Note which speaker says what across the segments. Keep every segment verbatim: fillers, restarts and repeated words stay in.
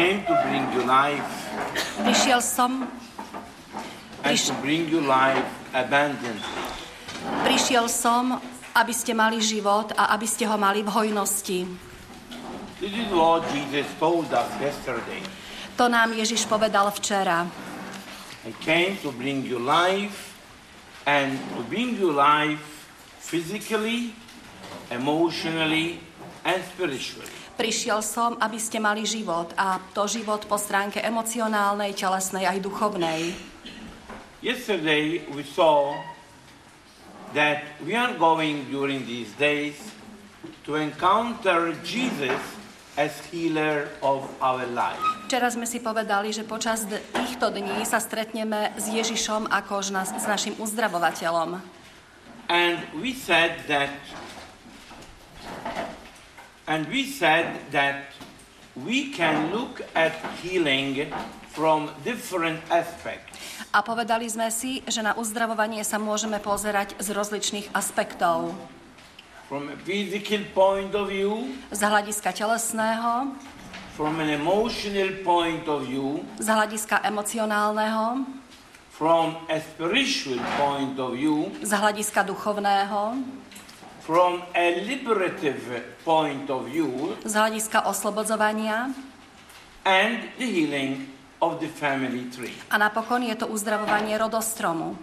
Speaker 1: came to bring you life.
Speaker 2: Prišiel som,
Speaker 1: And
Speaker 2: priš,
Speaker 1: to bring you life abundantly.
Speaker 2: prišiel som, aby ste mali život a aby ste ho mali v hojnosti.
Speaker 1: This is what Jesus told us yesterday.
Speaker 2: To nám Ježiš povedal včera.
Speaker 1: I came to bring you life, and to bring you life physically, emotionally, and spiritually.
Speaker 2: Prišiel som, aby ste mali život, a to život po stránke emocionálnej, telesnej aj duchovnej.
Speaker 1: Yesterday we saw that we are going during these days to encounter Jesus as healer of our life.
Speaker 2: Včera sme si povedali, že počas d- týchto dní sa stretneme s Ježišom ako s, nas- s našim uzdravovateľom.
Speaker 1: And we said that and we said that we can look at healing from different aspects.
Speaker 2: A povedali sme si, že na uzdravovanie sa môžeme pozerať z rozličných aspektov.
Speaker 1: From a physical point of view,
Speaker 2: Z hľadiska telesného,
Speaker 1: from an emotional point of view,
Speaker 2: z hľadiska emocionálneho,
Speaker 1: from a spiritual point of view,
Speaker 2: z hľadiska duchovného,
Speaker 1: from a liberative point of view,
Speaker 2: z hľadiska oslobodzovania
Speaker 1: and the healing of the family tree.
Speaker 2: a napokon je to uzdravovanie rodostromu.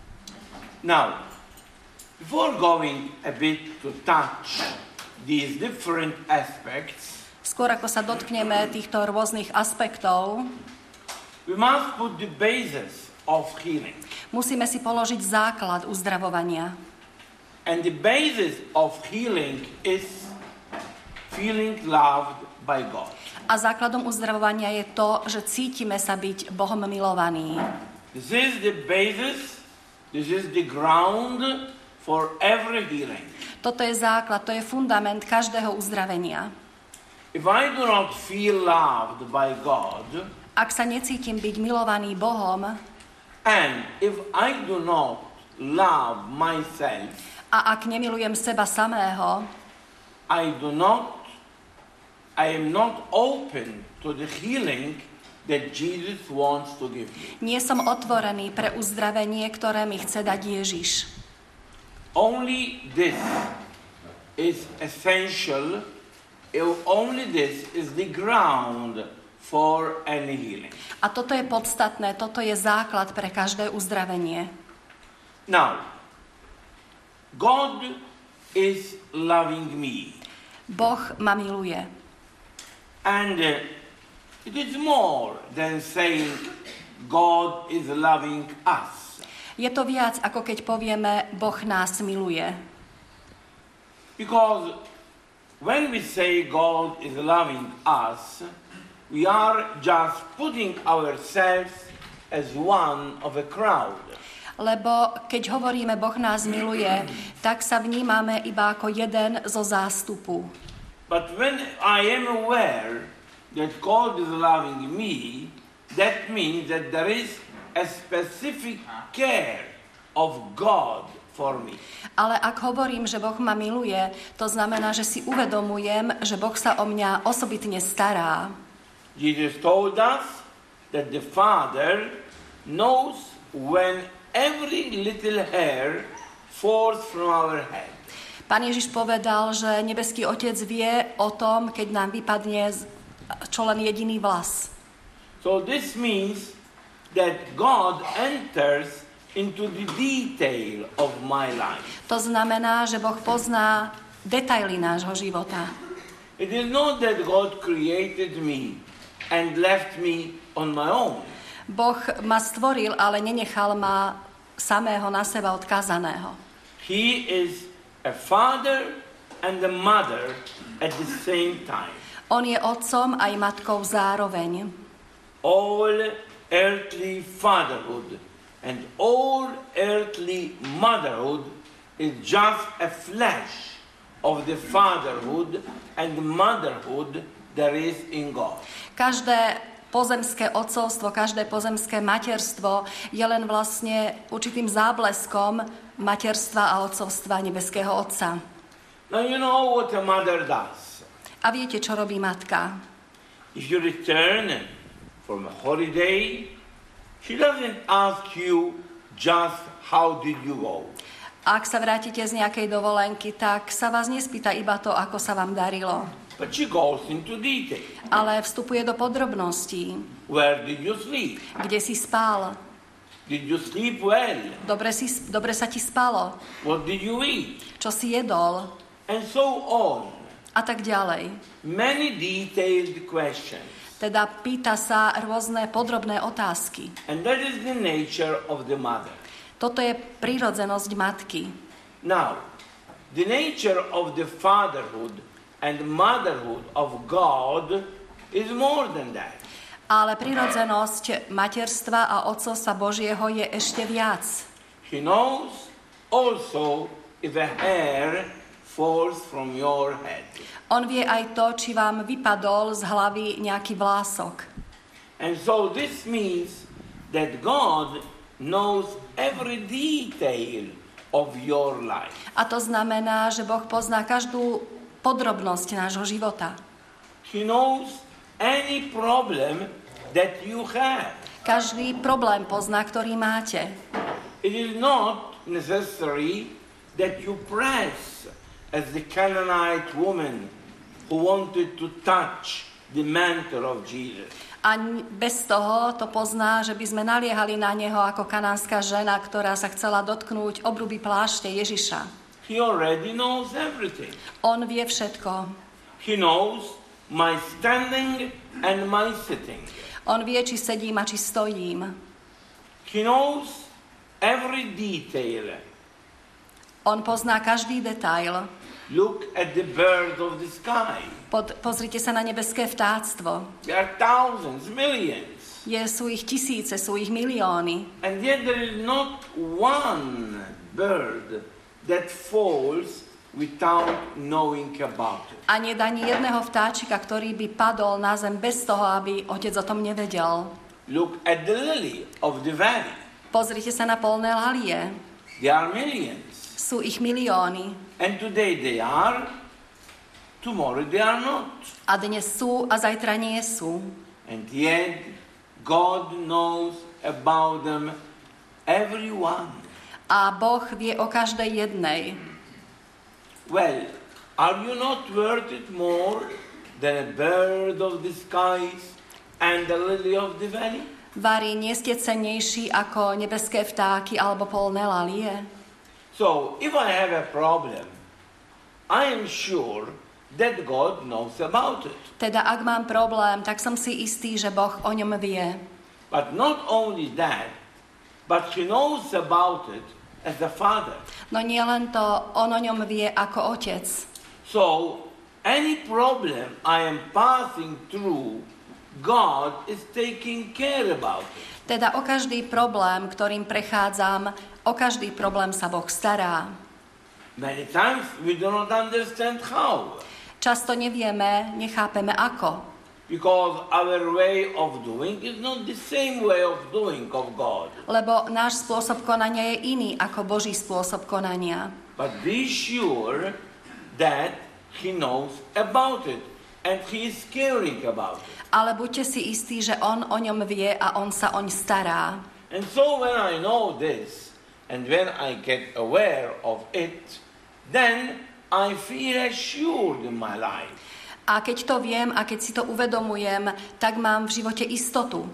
Speaker 1: Now, before going a bit to touch these different aspects,
Speaker 2: Skôr ako sa dotkneme týchto rôznych aspektov,
Speaker 1: we must put the basis of healing.
Speaker 2: musíme si položiť základ uzdravovania.
Speaker 1: And the basis of healing is feeling loved by God.
Speaker 2: A základom uzdravovania je to, že cítime sa byť Bohom milovaní.
Speaker 1: This is the basis, this is the ground for every healing.
Speaker 2: Toto je základ, to je fundament každého uzdravenia.
Speaker 1: If I do not feel loved by God,
Speaker 2: Ak sa necítim byť milovaný Bohom
Speaker 1: and if I do not love myself,
Speaker 2: a ak nemilujem seba samého,
Speaker 1: I do not, I am not open to the healing that Jesus wants to give me.
Speaker 2: nie som otvorený pre uzdravenie, ktoré mi chce dať Ježiš.
Speaker 1: Only this is essential, only this is the ground for any healing.
Speaker 2: A toto je podstatné, toto je základ pre každé uzdravenie.
Speaker 1: Now, God is loving me.
Speaker 2: Boh ma miluje.
Speaker 1: And uh, it is more than saying God is loving us.
Speaker 2: Je to viac, ako keď povieme, Boh nás miluje.
Speaker 1: Because when we say God is loving us, we are just putting ourselves as one of a crowd.
Speaker 2: Lebo keď hovoríme, Boh nás miluje, tak sa vnímame iba ako jeden zo zástupu.
Speaker 1: But when I am aware that God is loving me, that means that there is a specific care of God for me.
Speaker 2: Ale ak hovorím, že Boh ma miluje, to znamená, že si uvedomujem, že Boh sa o mňa osobitne stará.
Speaker 1: Jesus told us that the Father knows when every little hair falls from our head.
Speaker 2: Pán Ježiš povedal, že nebeský Otec vie o tom, keď nám vypadne čo len jediný vlas.
Speaker 1: So this means that God enters into the detail of my life.
Speaker 2: To znamená, že Boh pozná detaily nášho života.
Speaker 1: It is not that God created me and left me on my own.
Speaker 2: Boh ma stvoril, ale nenechal ma samého na seba odkázaného.
Speaker 1: He is a father and a mother at the same time.
Speaker 2: On je otcom aj matkou zároveň.
Speaker 1: All earthly fatherhood and all earthly motherhood is just a flash of the fatherhood and motherhood there is in God.
Speaker 2: Každé pozemské otcovstvo, každé pozemské materstvo je len vlastne určitým zábleskom materstva a otcovstva nebeského Otca.
Speaker 1: Now you know what a mother does.
Speaker 2: A viete, čo robí matka?
Speaker 1: If you return from a holiday, she doesn't ask you just how did you go.
Speaker 2: Ak sa vrátite z nejakej dovolenky, tak sa vás nespýta iba to, ako sa vám darilo.
Speaker 1: But she goes into detail.
Speaker 2: Ale vstupuje do podrobností.
Speaker 1: Where did you sleep?
Speaker 2: Kde si spal?
Speaker 1: Did you sleep well?
Speaker 2: Dobre, si, dobre sa ti spalo?
Speaker 1: What did you eat?
Speaker 2: Čo si jedol?
Speaker 1: And so on.
Speaker 2: A tak ďalej.
Speaker 1: Many detailed questions.
Speaker 2: Teda pýta sa rôzne podrobné otázky.
Speaker 1: And that is the nature of the mother.
Speaker 2: Toto je prírodzenosť matky.
Speaker 1: Now, the nature of the fatherhood and motherhood of God is more than that.
Speaker 2: Ale prírodzenosť materstva a otcovstva Božieho je ešte viac.
Speaker 1: He knows also if a hair falls from your head.
Speaker 2: On vie aj to, či vám vypadol z hlavy nejaký vlások.
Speaker 1: And so this means that God knows every detail of your life.
Speaker 2: A to znamená, že Boh pozná každú podrobnosť nášho života.
Speaker 1: He knows any problem that you have.
Speaker 2: Každý problém pozná, ktorý máte.
Speaker 1: It is not necessary that you press as the Canaanite woman who wanted to touch the mantle of Jesus.
Speaker 2: A bez toho to pozná, že by sme naliehali na neho ako kanánska žena, ktorá sa chcela dotknúť obruby plášte Ježiša.
Speaker 1: He already knows everything.
Speaker 2: On vie všetko.
Speaker 1: He knows my standing and my sitting.
Speaker 2: On vie, či sedím a či stojím.
Speaker 1: He knows every detail.
Speaker 2: On pozná každý detail.
Speaker 1: Look at the bird of the sky.
Speaker 2: Pod, pozrite sa na nebeské vtáctvo.
Speaker 1: There are thousands, millions.
Speaker 2: Je, sú ich tisíce, sú ich milióny.
Speaker 1: And yet there is not one bird that falls without knowing about it.
Speaker 2: A nie ani jedného vtáčika, ktorý by padol na zem bez toho, aby otec o tom nevedel.
Speaker 1: Look at the lily of the valley.
Speaker 2: Pozrite sa na polné lalie.
Speaker 1: There are millions.
Speaker 2: Sú ich milióny.
Speaker 1: And today they are, tomorrow they are not.
Speaker 2: A dnes sú a zajtra nie sú.
Speaker 1: And yet God knows about them, everyone.
Speaker 2: A Boh vie o každej jednej.
Speaker 1: Well, are you not worth it more than a bird of the skies and the lily of the valley?
Speaker 2: Vari, nie ste cennejší ako nebeské vtáky alebo polné lalie?
Speaker 1: So, if I have a problem, I am sure that God knows about it.
Speaker 2: Teda, ak mám problém, tak som si istý, že Boh o ňom vie.
Speaker 1: But not only that, but He knows about it as a father.
Speaker 2: No nie len to, on o ňom vie ako otec.
Speaker 1: So, any problem I am passing through, God is taking care about it.
Speaker 2: Teda o každý problém, ktorým prechádzam, o každý problém sa Boh stará.
Speaker 1: Many times we do not understand how.
Speaker 2: Často nevieme, nechápeme ako.
Speaker 1: Because our way of doing is not the same way of doing of God.
Speaker 2: Lebo náš spôsob konania je iný ako Boží spôsob konania.
Speaker 1: But be sure that He knows about it and He is caring about it.
Speaker 2: Ale buďte si istí, že on o ňom vie a on sa oň stará.
Speaker 1: And so when I know this and when I get aware of it, then I feel assured in my life.
Speaker 2: A keď to viem a keď si to uvedomujem, tak mám v živote istotu.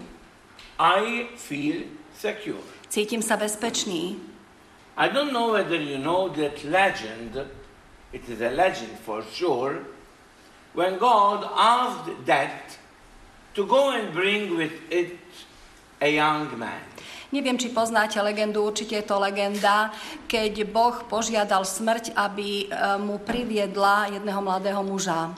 Speaker 1: I feel secure.
Speaker 2: Cítim sa bezpečný.
Speaker 1: I don't know whether you know that legend, it is a legend for sure, when God asked that to go and bring with it a young man.
Speaker 2: Neviem, či poznáte legendu, určite je to legenda, keď Boh požiadal smrť, aby mu priviedla jedného mladého muža.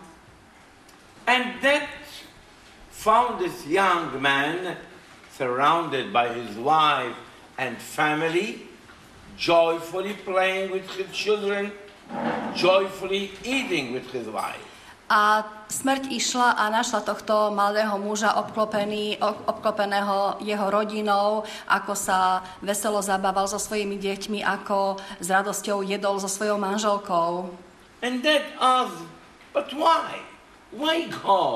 Speaker 1: And that found this young man surrounded by his wife and family, joyfully playing with his children, joyfully eating with his wife.
Speaker 2: A smrť išla a našla tohto mladého muža obklopený, obklopeného jeho rodinou, ako sa veselo zabával so svojimi deťmi, ako s radosťou jedol so svojou manželkou.
Speaker 1: And that asked, but why? Why God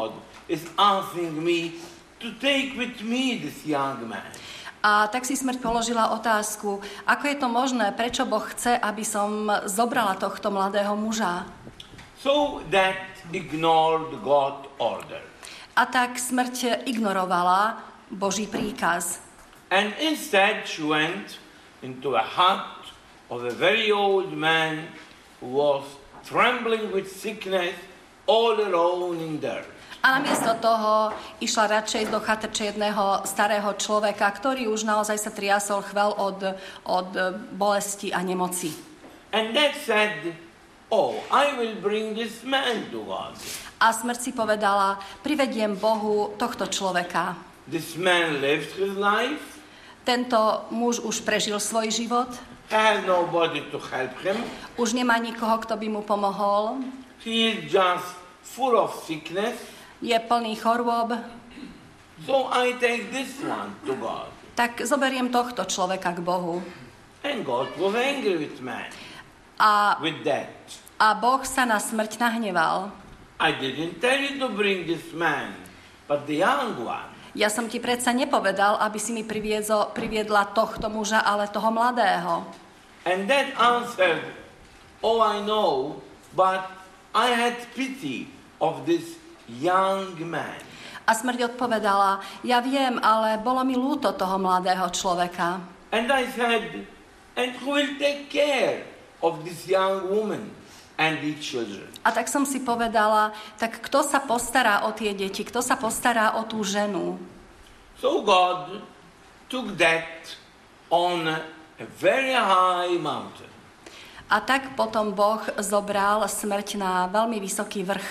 Speaker 1: is asking me to take with me this young man.
Speaker 2: A tak si smrť položila otázku, ako je to možné, prečo Boh chce, aby som zobrala tohto mladého muža.
Speaker 1: So that ignored God's order.
Speaker 2: A tak smrť ignorovala Boží príkaz.
Speaker 1: And instead she went into a hut of a very old man who was trembling with sickness all alone in there.
Speaker 2: A namiesto toho išla radšej do chatrče jedného starého človeka, ktorý už naozaj sa triasol chvel od, od bolesti a nemoci.
Speaker 1: And that said, oh, I will bring this man to God.
Speaker 2: A smrť si povedala, privediem Bohu tohto človeka.
Speaker 1: This man lived his life.
Speaker 2: Tento muž už prežil svoj život.
Speaker 1: Has nobody to help him.
Speaker 2: Už nemá nikoho, kto by mu pomohol.
Speaker 1: He is just full of sickness.
Speaker 2: Je plný chorôb.
Speaker 1: So I take this one to God.
Speaker 2: Tak zoberiem tohto človeka k Bohu.
Speaker 1: And God was angry with man.
Speaker 2: A,
Speaker 1: With that.
Speaker 2: a Boh sa na smrť nahneval.
Speaker 1: I didn't tell you to bring this man, but the young one.
Speaker 2: Ja som ti predsa nepovedal, aby si mi priviezo, priviedla tohto muža, ale toho mladého.
Speaker 1: And that answered, oh, I know, but I had pity of this young man.
Speaker 2: A smrť odpovedala, ja viem, ale bolo mi ľúto toho mladého človeka.
Speaker 1: And I said, and who will take care of this young woman and the children?
Speaker 2: A tak som si povedala, tak kto sa postará o tie deti, kto sa postará o tú ženu?
Speaker 1: So God took that on a very high mountain.
Speaker 2: A tak potom Boh zobral smrť na veľmi vysoký vrch.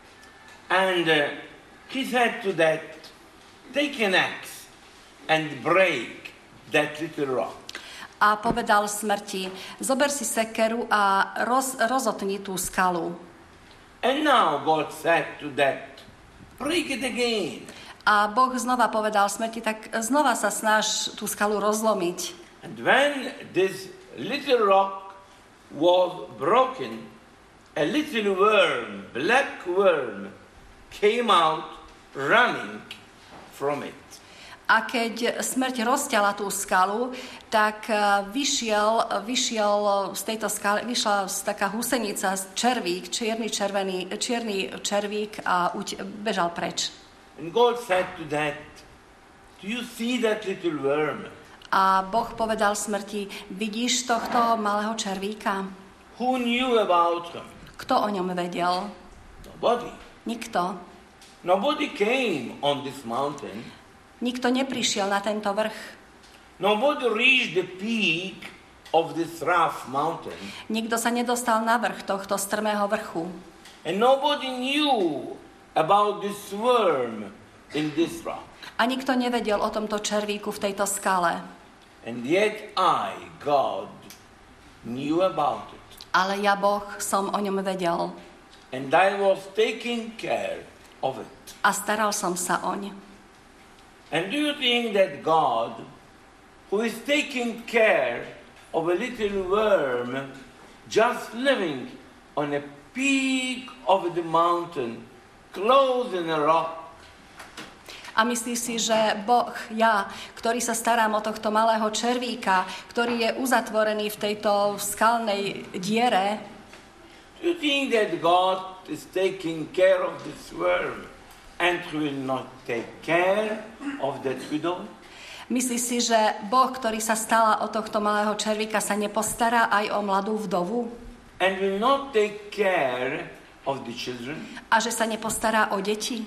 Speaker 1: And uh, he said to that, take an axe and break that little rock.
Speaker 2: A povedal smrti, zober si sekeru a roz, rozotni tú skalu.
Speaker 1: And now God said to that, break it again.
Speaker 2: A Boh znova povedal smrti, tak znova sa snaž tú skalu rozlomiť.
Speaker 1: And when this little rock was broken, a little worm, black worm, came out running from it.
Speaker 2: A keď smrť rozťala tú skalu, tak vyšiel, vyšiel z tejto skaly, vyšla taká husenica, červík, čierny, červený, čierny červík a uť, bežal preč.
Speaker 1: And God said to that, do you see that little worm?
Speaker 2: A Boh povedal smrti, vidíš tohto malého červíka?
Speaker 1: Who knew about him?
Speaker 2: Kto o ňom vedel?
Speaker 1: Nobody.
Speaker 2: Nikto.
Speaker 1: Nobody came on this mountain.
Speaker 2: Nikto neprišiel na tento vrch.
Speaker 1: Nobody reached the peak of this rough mountain.
Speaker 2: Nikto sa nedostal na vrch tohto strmého vrchu.
Speaker 1: And nobody knew about this worm in this rock.
Speaker 2: A nikto nevedel o tomto červíku v tejto skale.
Speaker 1: And yet I, God, knew about it.
Speaker 2: Ale ja, Boh, som o ňom vedel.
Speaker 1: And I was taking care of it.
Speaker 2: A staral som sa oň.
Speaker 1: And do you think that God, who is taking care of a little worm just living on a peak of the mountain, close in a rock,
Speaker 2: A myslíš si, že Boh, ja, ktorý sa starám o tohto malého červíka, ktorý je uzatvorený v tejto skalnej diere,
Speaker 1: do you think that God is taking care of this worm and will not take care of that widow?
Speaker 2: myslíš si, že Boh, ktorý sa stará o tohto malého červíka, sa nepostará aj o mladú vdovu?
Speaker 1: And will not take care of the children?
Speaker 2: A že sa nepostará o deti?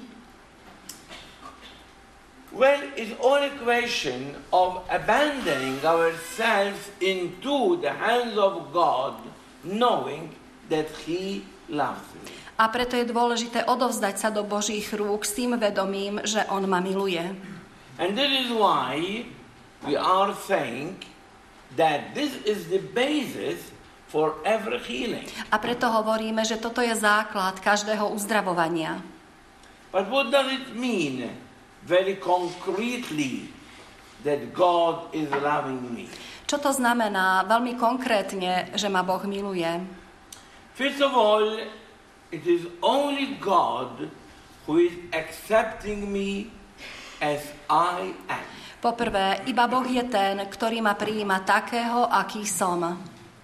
Speaker 1: Well, it's all a question of abandoning ourselves into the hands of God, knowing that He loves me.
Speaker 2: A preto je dôležité odovzdať sa do Božích rúk s tým vedomím, že On ma miluje.
Speaker 1: And that is why we are saying that this is the basis for every healing.
Speaker 2: A preto hovoríme, že toto je základ každého uzdravovania.
Speaker 1: But what does it mean very concretely that God is loving me?
Speaker 2: Čo to znamená veľmi konkrétne, že ma Boh miluje?
Speaker 1: First of all, it is only God who is accepting me as I am.
Speaker 2: Poprvé, iba Boh je ten, ktorý ma prijíma takého, aký som.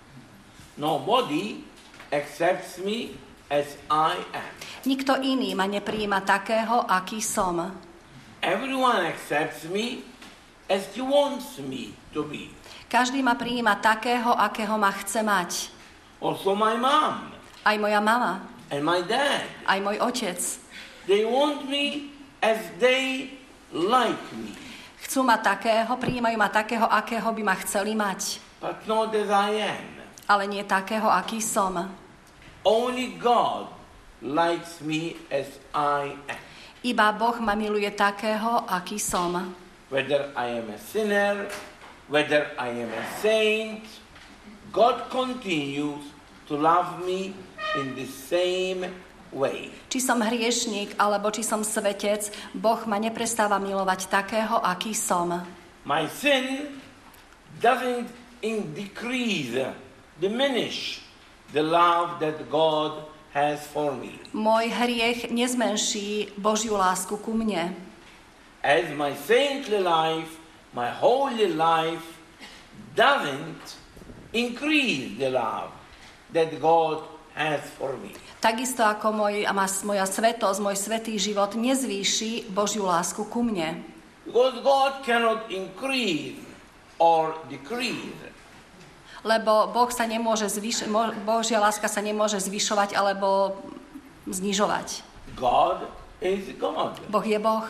Speaker 1: Nobody accepts me as I am.
Speaker 2: Nikto iný ma neprijíma takého, aký som.
Speaker 1: Everyone accepts me as he wants me to be.
Speaker 2: Každý ma prijíma takého, akého ma chce mať.
Speaker 1: Also my mom
Speaker 2: Aj moja mama,
Speaker 1: and my dad.
Speaker 2: aj môj otec.
Speaker 1: They want me as they like me.
Speaker 2: Chcú ma takého, prijímajú ma takého, akého by ma chceli mať.
Speaker 1: But not as I am.
Speaker 2: Ale nie takého, aký som.
Speaker 1: Only God likes me as I am.
Speaker 2: Iba Boh ma miluje takého, aký som.
Speaker 1: Whether I am a sinner, whether I am a saint, God continues to love me in the same way.
Speaker 2: Či som hriešník, alebo či som svetec, Boh ma neprestáva milovať takého, aký som.
Speaker 1: My sin doesn't in decrease, diminish the love that God has for me.
Speaker 2: Môj hriech nezmenší Božiu lásku ku mne.
Speaker 1: As my saintly life, my holy life doesn't increase the love that God has for me.
Speaker 2: Takisto ako môj, a moja svetosť, môj svätý život nezvýši Božiu lásku ku mne.
Speaker 1: Because God cannot increase or decrease.
Speaker 2: Lebo Boh sa nemôže zvyš- Božia láska sa nemôže zvyšovať alebo znižovať.
Speaker 1: God is God.
Speaker 2: Boh je Boh.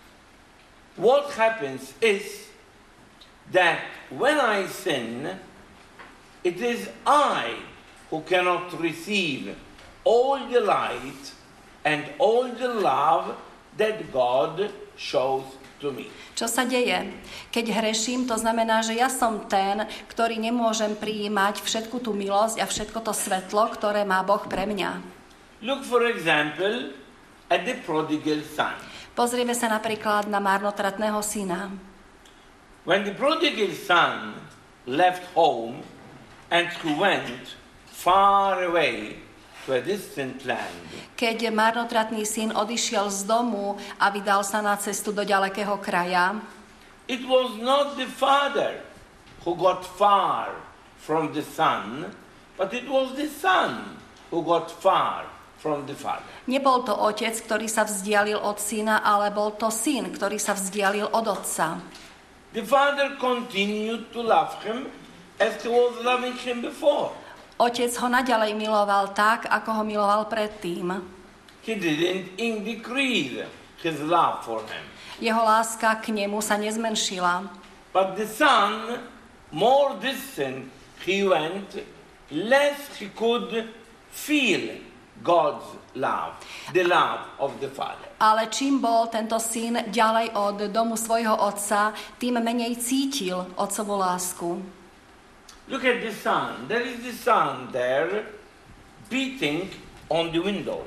Speaker 1: What happens is that when I sin, it is I who cannot receive all the light and all the love that God shows to me.
Speaker 2: Čo sa deje? Keď hreším, to znamená, že ja som ten, ktorý nemôžem prijímať všetku tú milosť a všetko to svetlo, ktoré má Boh pre mňa.
Speaker 1: Look for example at the prodigal son.
Speaker 2: Pozrieme sa napríklad na marnotratného syna.
Speaker 1: When the prodigal son left home and he went far away to a distant land,
Speaker 2: Keď marnotratný syn odišiel z domu a vydal sa na cestu do ďalekého kraja,
Speaker 1: it was not the father who got far from the son, but it was the son who got far from the father.
Speaker 2: nebol to otec, ktorý sa vzdialil od syna, ale bol to syn, ktorý sa vzdialil od otca.
Speaker 1: The father continued to love him as he was loving him before.
Speaker 2: Otec ho naďalej miloval tak, ako ho miloval predtým.
Speaker 1: He didn't decrease his love for him.
Speaker 2: Jeho láska k nemu sa nezmenšila.
Speaker 1: But the son, more distant he went, less he could feel God's love, the love of the father.
Speaker 2: Ale čím bol tento syn ďalej od domu svojho otca, tým menej cítil otcovú lásku.
Speaker 1: Look at the sun. There is the sun there beating on the window.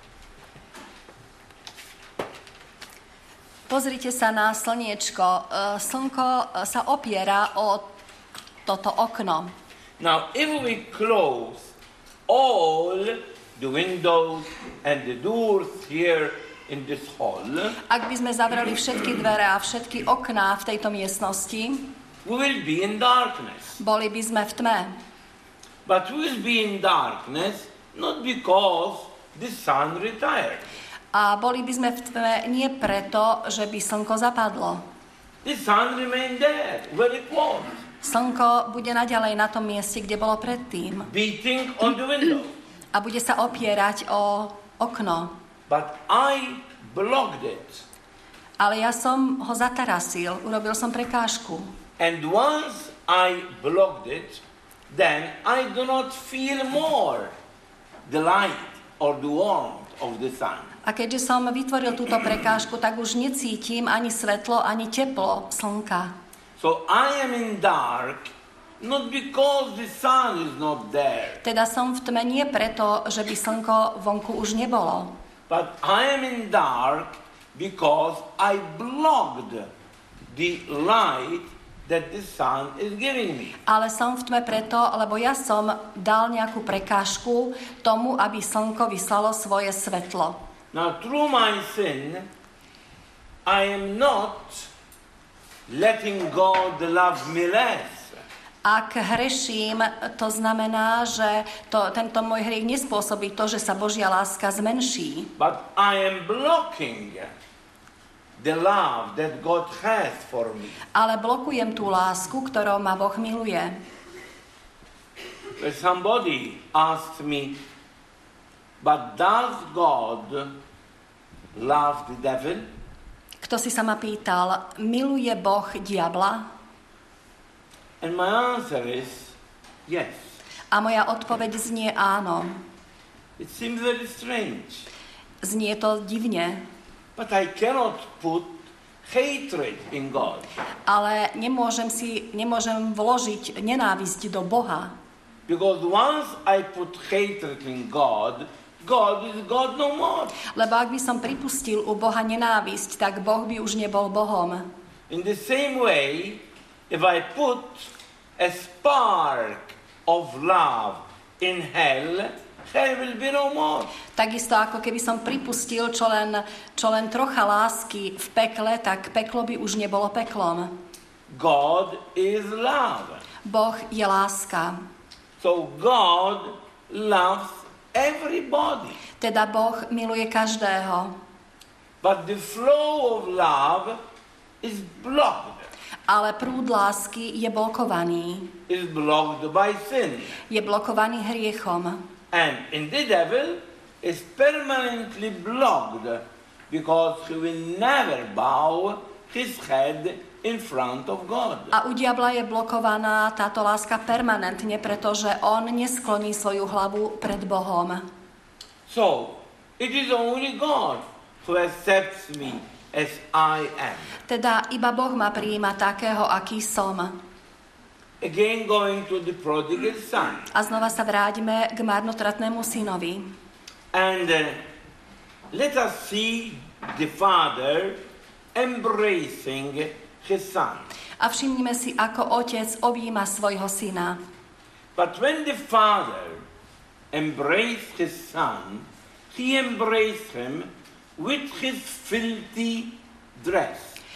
Speaker 2: Pozrite sa na slniečko. Slnko sa opiera o toto okno.
Speaker 1: Now, if we close all the windows and the doors here in this hall,
Speaker 2: Ak by sme zavreli všetky dvere a všetky okná v tejto miestnosti,
Speaker 1: we will be in darkness.
Speaker 2: boli by sme v tme.
Speaker 1: But we will be in darkness not because the sun retired.
Speaker 2: A boli by sme v tme nie preto, že by slnko zapadlo.
Speaker 1: The sun remained there where it was,
Speaker 2: Slnko bude naďalej na tom mieste, kde bolo predtým.
Speaker 1: beating on the window.
Speaker 2: A bude sa opierať o okno.
Speaker 1: But I blocked it.
Speaker 2: Ale ja som ho zatarasil, urobil som prekážku.
Speaker 1: And once I blocked it, then I do not feel more the light or the warmth of the sun.
Speaker 2: A keďže som vytvoril túto prekážku, tak už necítim ani svetlo, ani teplo slnka.
Speaker 1: So I am in dark, not because the sun is not there,
Speaker 2: Teda som v tme nie preto, že by slnko vonku už nebolo.
Speaker 1: but I am in dark because I blocked the light that the sun is giving me.
Speaker 2: Ale som v tme preto, lebo ja som dal nejakú prekážku tomu, aby slnko vyslalo svoje svetlo.
Speaker 1: Now, through my sin, I am not letting God love me less.
Speaker 2: Ak hreším, to znamená, že to, tento môj hriech nespôsobí to, že sa Božia láska zmenší.
Speaker 1: But I am blocking the love that God has for me.
Speaker 2: Ale blokujem tú lásku, ktorou ma Boh miluje.
Speaker 1: When somebody asked me, but does God love the devil?
Speaker 2: Kto si sa ma pýtal, miluje Boh diabla?
Speaker 1: And my answer is yes.
Speaker 2: A moja odpoveď znie áno.
Speaker 1: It seems very strange.
Speaker 2: Znie to divne.
Speaker 1: But I cannot put hatred in God.
Speaker 2: Ale nemôžem si, nemôžem vložiť nenávisť do Boha.
Speaker 1: Because once I put hatred in God, God is God no more.
Speaker 2: Lebo ak by som pripustil u Boha nenávisť, tak Boh by už nebol Bohom.
Speaker 1: In the same way, if I put a spark of love in hell, hell will be no more.
Speaker 2: Takisto ako keby som pripustil čo len, čo len trocha lásky v pekle, tak peklo by už nebolo peklom.
Speaker 1: God is love.
Speaker 2: Boh je láska.
Speaker 1: So God loves everybody.
Speaker 2: Teda Boh miluje každého.
Speaker 1: But the flow of love is blocked.
Speaker 2: Ale prúd lásky je blokovaný.
Speaker 1: Is blocked by sin.
Speaker 2: Je blokovaný hriechom.
Speaker 1: And in the devil is permanently blocked because he will never bow his head in front of God.
Speaker 2: A u diabla je blokovaná táto láska permanentne, pretože on neskloní svoju hlavu pred Bohom.
Speaker 1: So, it is only God who accepts me as I am.
Speaker 2: Teda iba Boh ma prijíma takého, aký som.
Speaker 1: Again going to the prodigal son.
Speaker 2: A znova sa vráťme k marnotratnému synovi.
Speaker 1: And uh, let us see the father embracing his son.
Speaker 2: A všimnime si, ako otec objíma svojho syna.
Speaker 1: But when the father embraced his son, he embraced him with his filthy dress.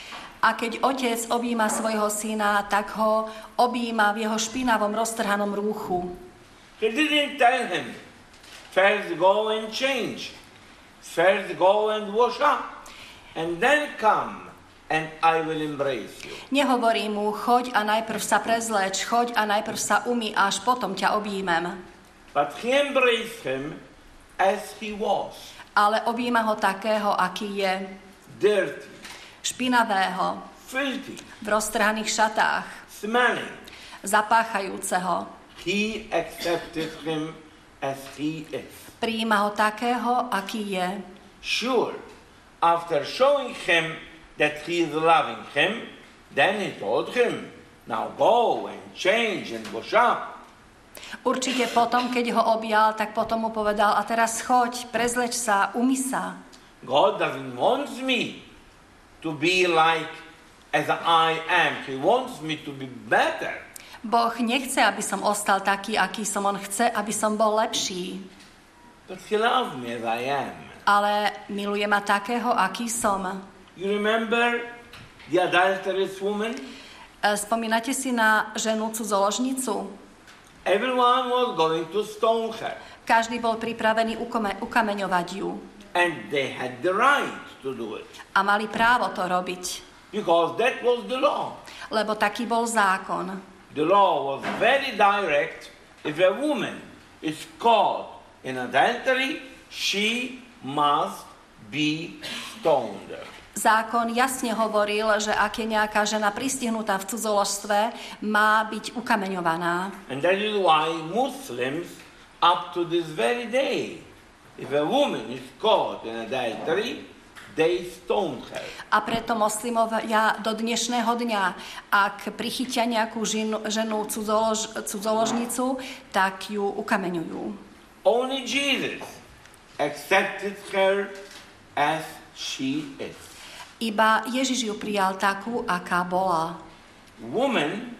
Speaker 2: A keď otec objíma svojho syna, tak ho objíma v jeho špinavom roztrhanom rúchu.
Speaker 1: He didn't tell him, first go and change, first go and wash up, and then come and I will embrace you.
Speaker 2: Nehovorí mu, choď a najprv sa prezleč, choď a najprv sa umý, až potom ťa objímem.
Speaker 1: But he embraced him as he was.
Speaker 2: Ale objíma ho takého, aký je.
Speaker 1: Dirty,
Speaker 2: špinavého,
Speaker 1: filthy,
Speaker 2: v roztrhaných šatách,
Speaker 1: smelling.
Speaker 2: zapáchajúceho.
Speaker 1: He accepted him as he is.
Speaker 2: Prijíma ho takého, aký je.
Speaker 1: Sure, after showing him that he is loving him, then he told him, now go and change and wash up.
Speaker 2: Určite potom, keď ho objal, tak potom mu povedal, a teraz choď, prezleč sa, umy sa.
Speaker 1: God doesn't want me to be like as I am. He wants me to be better.
Speaker 2: Boh nechce, aby som ostal taký, aký som. On chce, aby som bol lepší.
Speaker 1: But he loves me as I am.
Speaker 2: Ale miluje ma takého, aký som.
Speaker 1: You remember the adulterous woman?
Speaker 2: Spomínate si na ženu cudzoložnicu?
Speaker 1: Everyone was going to stone her.
Speaker 2: Každý bol pripravený ukome, ukameňovať ju.
Speaker 1: And they had the right to do it.
Speaker 2: A mali právo to robiť.
Speaker 1: Because that was the law.
Speaker 2: Lebo taký bol zákon.
Speaker 1: The law was very direct. If a woman is caught in adultery, she must be stoned.
Speaker 2: Zákon jasne hovoril, že ak je nejaká žena pristihnutá v cudzoložstve, má byť ukameňovaná.
Speaker 1: And that is why Muslims, up to this very day, if a woman is caught in adultery, they stone her.
Speaker 2: A preto moslimovia do dnešného dňa, ak prichytia nejakú ženu, ženu cudzolož, cudzoložnicu, tak ju ukameňujú.
Speaker 1: Only Jesus accepted her as she is.
Speaker 2: Iba Ježiš ju prijal takú, aká bola.
Speaker 1: Woman,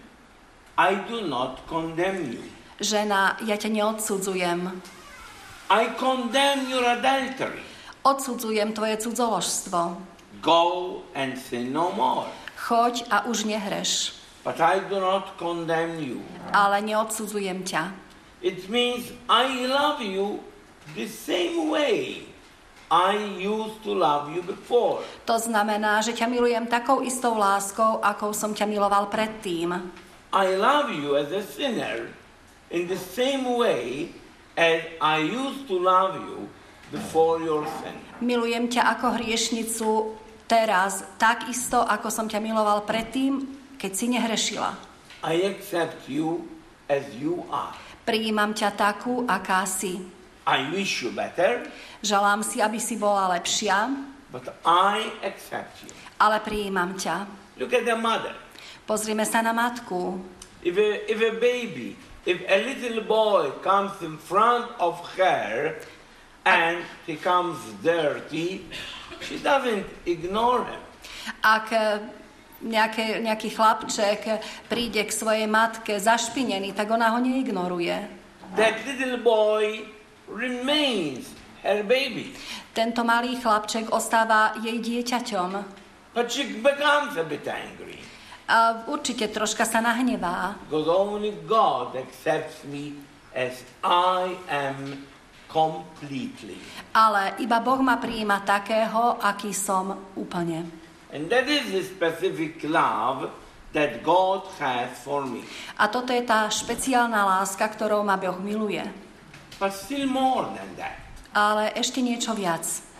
Speaker 1: I do not condemn you.
Speaker 2: Žena, ja ťa neodsudzujem.
Speaker 1: I condemn your adultery.
Speaker 2: Odsudzujem tvoje cudzoložstvo.
Speaker 1: Go and sin no more.
Speaker 2: Choď a už nehreš.
Speaker 1: But I do not condemn you.
Speaker 2: Ale neodsudzujem ťa.
Speaker 1: It means I love you the same way I used to love you before.
Speaker 2: To znamená, že ťa milujem takou istou láskou, akou som ťa miloval predtým.
Speaker 1: I love you as a sinner in the same way as I used to love you before your sin.
Speaker 2: Milujem ťa ako hriešnicu teraz, tak isto, ako som ťa miloval predtým, keď si nehrešila.
Speaker 1: I accept you as you are.
Speaker 2: Prijímam ťa takú, aká si.
Speaker 1: I wish you better,
Speaker 2: Želám si, aby si bola lepšia,
Speaker 1: but I accept you.
Speaker 2: ale prijímam ťa.
Speaker 1: Look at the mother.
Speaker 2: Pozrime sa na matku.
Speaker 1: If a, if a baby, if a little boy comes in front of her and he comes dirty, she doesn't ignore him.
Speaker 2: Ak nejaké, nejaký chlapček príde k svojej matke zašpinený, tak ona ho neignoruje.
Speaker 1: That little boy remains her baby.
Speaker 2: Tento malý chlapček ostáva jej dieťaťom.
Speaker 1: But she becomes a bit angry.
Speaker 2: A určite troška sa nahnevá.
Speaker 1: Because only God accepts me as I am completely.
Speaker 2: Ale iba Boh ma prijíma takého, aký som úplne.
Speaker 1: And that is the specific love that God has for me.
Speaker 2: A toto je tá špeciálna láska, ktorou ma Boh miluje.
Speaker 1: But still more than that.
Speaker 2: Ale ešte niečo viac.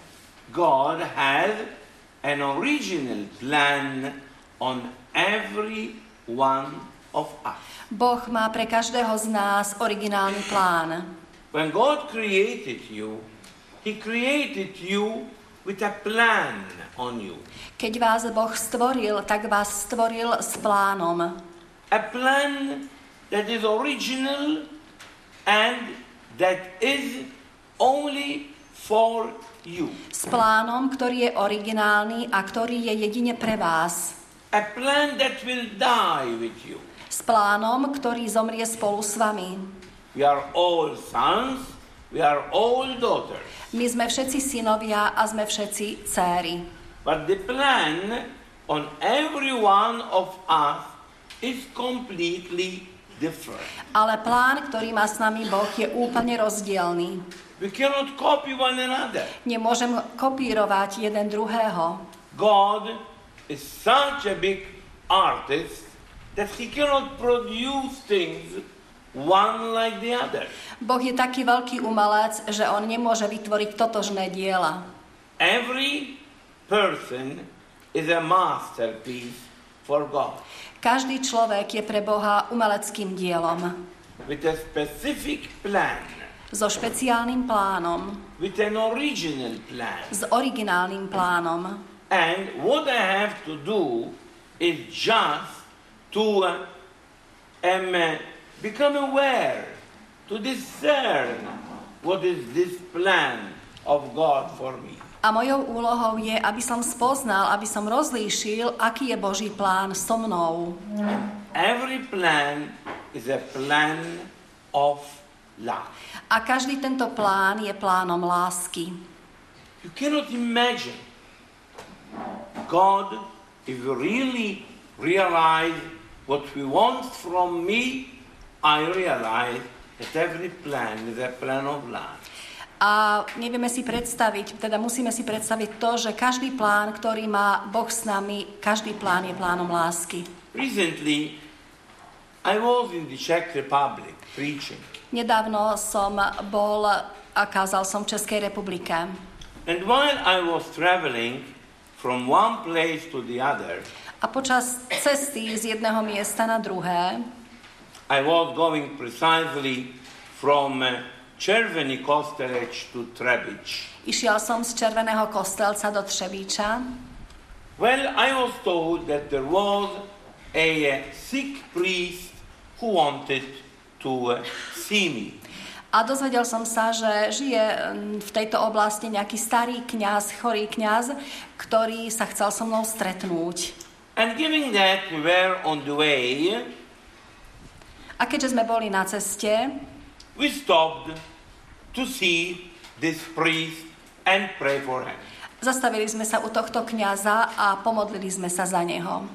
Speaker 1: God has an original plan on every one of us.
Speaker 2: Boh má pre každého z nás originálny plán.
Speaker 1: When God created you, He created you with a plan on you.
Speaker 2: Keď vás Boh stvoril, tak vás stvoril s plánom.
Speaker 1: A plan that is original and that is only for you.
Speaker 2: S plánom, ktorý je originálny a ktorý je jedine pre vás.
Speaker 1: A plan that will die with you.
Speaker 2: S plánom, ktorý zomrie spolu s vami.
Speaker 1: We are all sons, we are all daughters.
Speaker 2: My sme všetci synovia a sme všetci céry.
Speaker 1: But the plan on every one of us is completely different.
Speaker 2: Ale plán, ktorý má s nami Boh, je úplne rozdielný.
Speaker 1: We cannot copy one another.
Speaker 2: Nemôžem kopírovať jeden druhého.
Speaker 1: God is such a big artist that he cannot produce things one like the other.
Speaker 2: Boh je taký veľký umelec, že on nemôže vytvoriť totožné diela.
Speaker 1: Every person is a masterpiece for God.
Speaker 2: Každý človek je pre Boha umeleckým dielom.
Speaker 1: With a specific plan.
Speaker 2: So špeciálnym plánom.
Speaker 1: With an original plan.
Speaker 2: S originálnym plánom.
Speaker 1: And what I have to do is just to uh, um, uh, become aware, to discern what is this plan of God for me.
Speaker 2: A mojou úlohou je, aby som spoznal, aby som rozlíšil, aký je Boží plán so mnou.
Speaker 1: Every plan is a plan of love.
Speaker 2: A každý tento plán je plánom lásky.
Speaker 1: You cannot imagine God, if you really realize what He wants from me, I realize that every plan is a plan of love.
Speaker 2: A nevieme si predstaviť, teda musíme si predstaviť to, že každý plán, ktorý má Boh s nami, každý plán je plánom lásky.
Speaker 1: Recently, I was in the Czech Republic preaching.
Speaker 2: Nedávno som bol a kázal som v Českej republike.
Speaker 1: And while I was traveling from one place to the other,
Speaker 2: a počas cesty z jedného miesta na druhé,
Speaker 1: I was going precisely from uh, Červený Kostelec to Trebič.
Speaker 2: Išiel som z Červeného Kostelca do Třebíča.
Speaker 1: Well, I was told that there was a uh, sick priest who wanted to uh, see me.
Speaker 2: A dozvedel som sa, že žije v tejto oblasti nejaký starý kňaz, chorý kňaz, ktorý sa chcel so mnou stretnúť.
Speaker 1: And given that we were on the way,
Speaker 2: a keďže sme boli na ceste,
Speaker 1: we stopped to see this priest and pray for him.
Speaker 2: Zastavili sme sa u tohto kňaza a pomodlili sme sa za neho.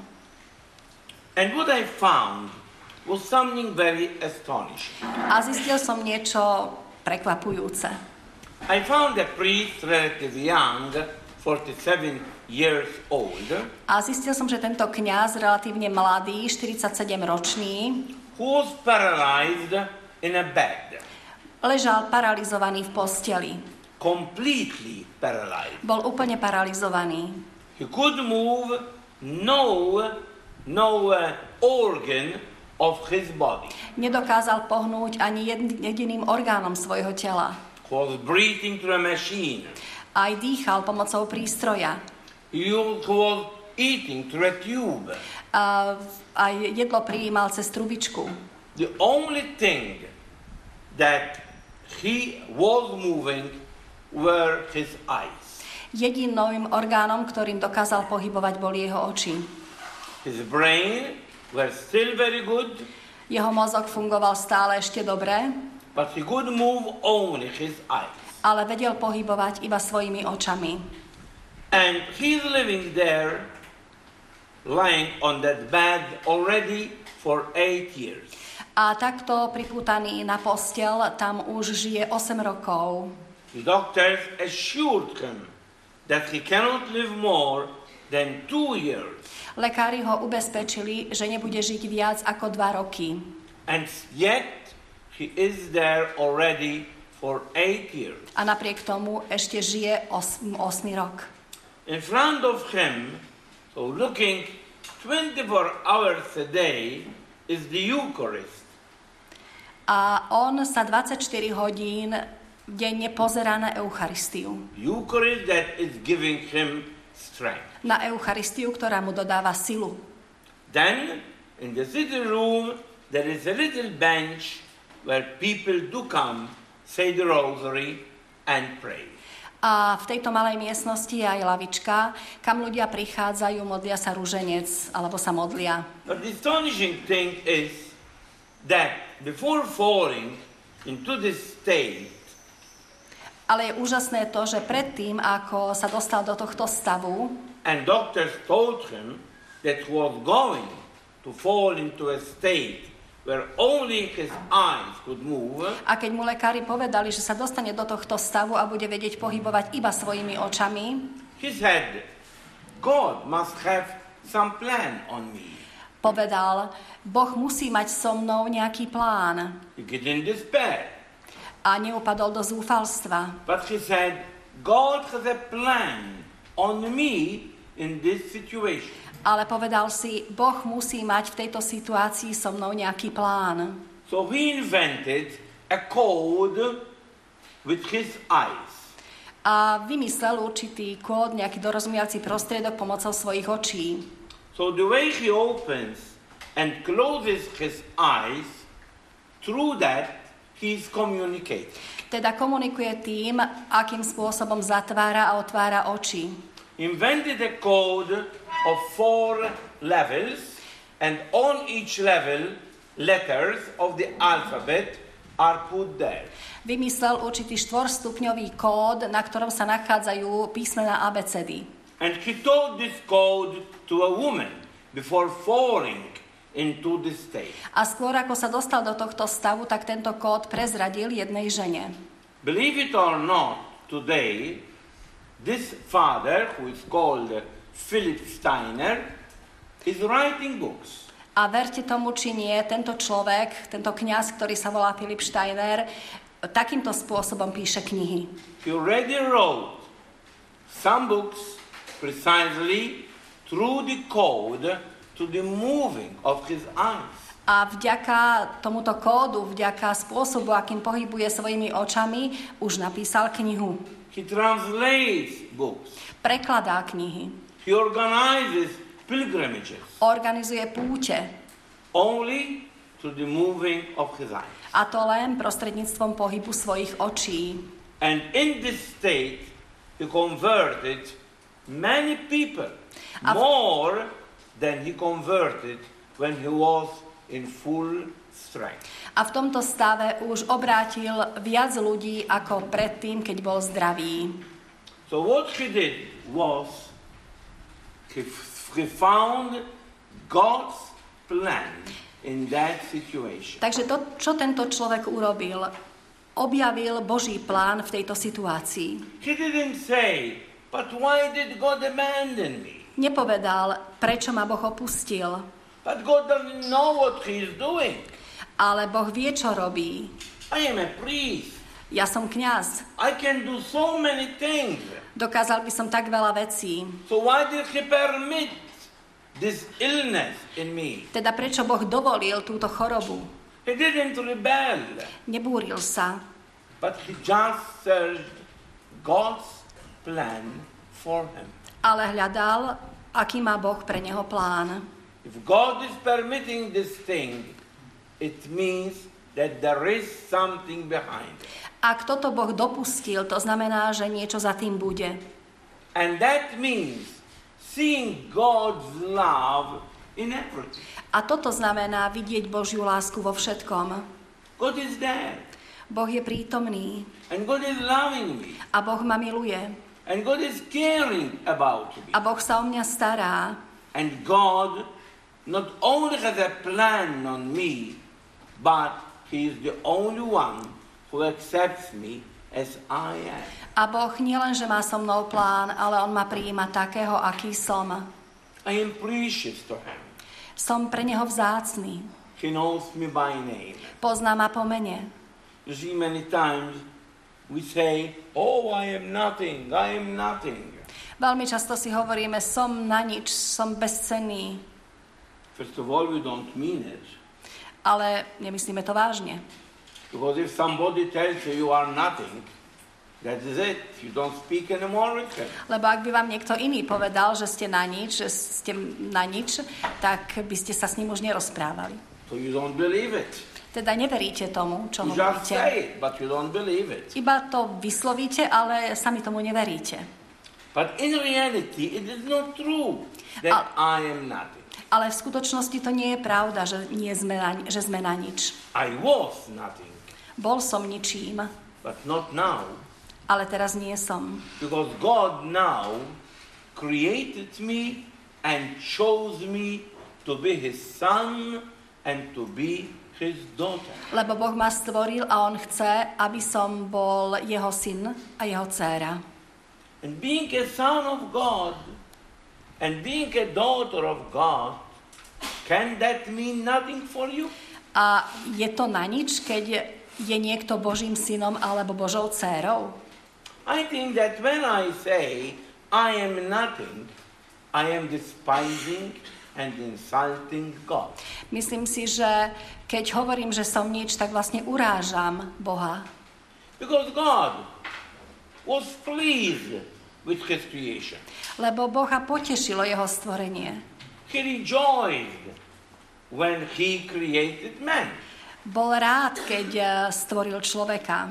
Speaker 1: And what I found was something very astonishing.
Speaker 2: A zistil som niečo prekvapujúce.
Speaker 1: I found a priest relatively young, forty-seven years old,
Speaker 2: A zistil som, že tento kňaz, relatívne mladý, štyridsaťsedem ročný,
Speaker 1: who was paralyzed in a bed,
Speaker 2: ležal paralizovaný v posteli.
Speaker 1: completely paralyzed.
Speaker 2: Bol úplne paralizovaný.
Speaker 1: He could move no, no uh, organ of his body.
Speaker 2: Nedokázal pohnúť ani jed- jediným orgánom svojho tela.
Speaker 1: He was breathing through a machine.
Speaker 2: Aj dýchal pomocou prístroja.
Speaker 1: He was eating through a tube.
Speaker 2: A aj jedlo prijímal cez trubičku.
Speaker 1: The only thing that he was moving were his eyes.
Speaker 2: Jediným orgánom, ktorým dokázal pohybovať, boli jeho oči.
Speaker 1: His brain were still very good,
Speaker 2: Jeho mozog fungoval stále ešte dobre,
Speaker 1: but he could move only his eyes.
Speaker 2: ale vedel pohybovať iba svojimi očami.
Speaker 1: And he's living there, lying on that bed already for eight years.
Speaker 2: A takto pripútaný na postel tam už žije osem rokov.
Speaker 1: The doctors assured him that he cannot live more than two years.
Speaker 2: Lekári ho ubezpečili, že nebude žiť viac ako dva roky.
Speaker 1: And yet he is there already for eight years.
Speaker 2: A napriek tomu ešte žije osem rok.
Speaker 1: In front of him, so looking twenty-four hours a day, is the Eucharist.
Speaker 2: A on sa dvadsaťštyri hodín denne pozerá na Eucharistiu.
Speaker 1: Eucharist that is giving him strength.
Speaker 2: Na Eucharistiu, ktorá mu dodáva silu.
Speaker 1: Then, in the sitting room, there is a little bench where people do come, say the rosary, and pray.
Speaker 2: A v tejto malej miestnosti je aj lavička, kam ľudia prichádzajú, modlia sa ruženec, alebo sa modlia.
Speaker 1: But the astonishing thing is that before falling into this state,
Speaker 2: Ale je úžasné to, že predtým, ako sa dostal do tohto stavu,
Speaker 1: and doctors told him that he was going to fall into a state where only his eyes could move,
Speaker 2: a keď mu lekári povedali, že sa dostane do tohto stavu a bude vedieť pohybovať iba svojimi očami,
Speaker 1: he said, God must have some plan on me.
Speaker 2: povedal, Boh musí mať so mnou nejaký plán.
Speaker 1: He get in despair.
Speaker 2: A neupadol do zúfalstva.
Speaker 1: But he said, God has a plan on me in this situation.
Speaker 2: Ale povedal si, Boh musí mať v tejto situácii so mnou nejaký plán.
Speaker 1: So he invented a code with his eyes.
Speaker 2: A vymyslel určitý kód, nejaký dorozumiaci prostriedok pomocou svojich očí.
Speaker 1: So the way he opens and closes his eyes, through that he is communicating.
Speaker 2: Teda komunikuje tým, akým spôsobom zatvára a otvára oči.
Speaker 1: Invented a code of four levels, and on each level letters of the alphabet are put there.
Speaker 2: Vymyslel určitý štvorstupňový kód, na ktorom sa nachádzajú písmená abecedy.
Speaker 1: And he told this code to a woman before falling into this state.
Speaker 2: A skôr ako sa dostal do tohto stavu, tak tento kód prezradil jednej žene.
Speaker 1: Believe it or not, today, this father, who is called Philip Steiner, is writing books.
Speaker 2: A verte tomu, či nie, tento človek, tento kňaz, ktorý sa volá Philip Steiner, takýmto spôsobom píše knihy.
Speaker 1: He already wrote some books precisely through the code to the moving of his eyes.
Speaker 2: A vďaka tomuto kódu, vďaka spôsobu, akým pohybuje svojimi očami, už napísal knihu.
Speaker 1: He translates books.
Speaker 2: Prekladá knihy.
Speaker 1: He organizes pilgrimages.
Speaker 2: Organizuje púte.
Speaker 1: Only to the moving of his eyes.
Speaker 2: A to len prostredníctvom pohybu svojich očí.
Speaker 1: And in this state, he converted many people,
Speaker 2: A v-
Speaker 1: more than he converted when he was in full strength.
Speaker 2: A v tomto stave už obrátil viac ľudí ako predtým, keď bol zdravý.
Speaker 1: So what he did was he, he found God's plan in that situation.
Speaker 2: Takže to, čo tento človek urobil, objavil Boží plán v tejto situácii.
Speaker 1: He didn't say, but why did God abandon me?
Speaker 2: Nepovedal, prečo ma Boh opustil,
Speaker 1: But God doesn't know what he is doing.
Speaker 2: ale Boh vie, čo robí.
Speaker 1: I am a priest.
Speaker 2: Ja som kňaz.
Speaker 1: I can do so many things.
Speaker 2: Dokázal by som tak veľa vecí.
Speaker 1: So why did he permit this illness in me?
Speaker 2: Teda prečo Boh dovolil túto chorobu?
Speaker 1: He didn't rebel,
Speaker 2: Nebúril sa,
Speaker 1: but he just searched God's plan for him.
Speaker 2: ale hľadal, aký má Boh pre neho plán.
Speaker 1: If God is permitting this thing, it means that there is something behind it.
Speaker 2: Ak toto Boh dopustil, to znamená, že niečo za tým bude.
Speaker 1: And that means seeing God's love in everything.
Speaker 2: A toto znamená vidieť Božiu lásku vo všetkom.
Speaker 1: God is there.
Speaker 2: Boh je prítomný
Speaker 1: And God is loving me.
Speaker 2: a Boh ma miluje.
Speaker 1: And God is caring about me.
Speaker 2: A Boh sa o mňa stará.
Speaker 1: And God not only has a plan on me, but He is the only one who accepts me as I am.
Speaker 2: A Boh nielen, že má so mnou plán, ale On ma prijíma takého, aký som.
Speaker 1: I am precious to Him.
Speaker 2: Som pre Neho vzácny.
Speaker 1: He knows me by name.
Speaker 2: Pozná ma po mene.
Speaker 1: You see, many times we say, oh, I am nothing, I am nothing.
Speaker 2: Veľmi často si hovoríme, som na nič, som bezcenný.
Speaker 1: First of all, we don't mean it.
Speaker 2: Ale nemyslíme to vážne.
Speaker 1: Because if somebody tells you you are nothing, that is it. You don't speak anymore with him.
Speaker 2: Lebo ak by vám niekto iný povedal, že ste na nič, že ste na nič, tak by ste sa s ním už nerozprávali.
Speaker 1: So you don't believe it.
Speaker 2: Teda neveríte tomu, čo
Speaker 1: You just
Speaker 2: hovoríte.
Speaker 1: say it, but you don't believe it.
Speaker 2: Iba to vyslovíte, ale sami tomu neveríte.
Speaker 1: But in reality, it is not true that I am nothing.
Speaker 2: Ale v skutočnosti to nie je pravda, že, nie sme, na, že sme na nič.
Speaker 1: I was nothing,
Speaker 2: Bol som ničím,
Speaker 1: but not now.
Speaker 2: ale teraz nie som.
Speaker 1: Because God now created me and chose me to be His son and to be His daughter.
Speaker 2: Lebo Boh ma stvoril a On chce, aby som bol jeho syn a jeho dcéra.
Speaker 1: And being a son of God and being a daughter of God, can that mean nothing for you?
Speaker 2: A je to na nič, keď je niekto Božím synom alebo Božou dcérou?
Speaker 1: I think that when I say I am nothing, I am despising and insulting God.
Speaker 2: Myslím si, že keď hovorím, že som nič, tak vlastne urážam Boha.
Speaker 1: Because God was pleased with His creation.
Speaker 2: Lebo Boha potešilo jeho stvorenie.
Speaker 1: He rejoiced when He created man.
Speaker 2: Bol rád, keď stvoril človeka.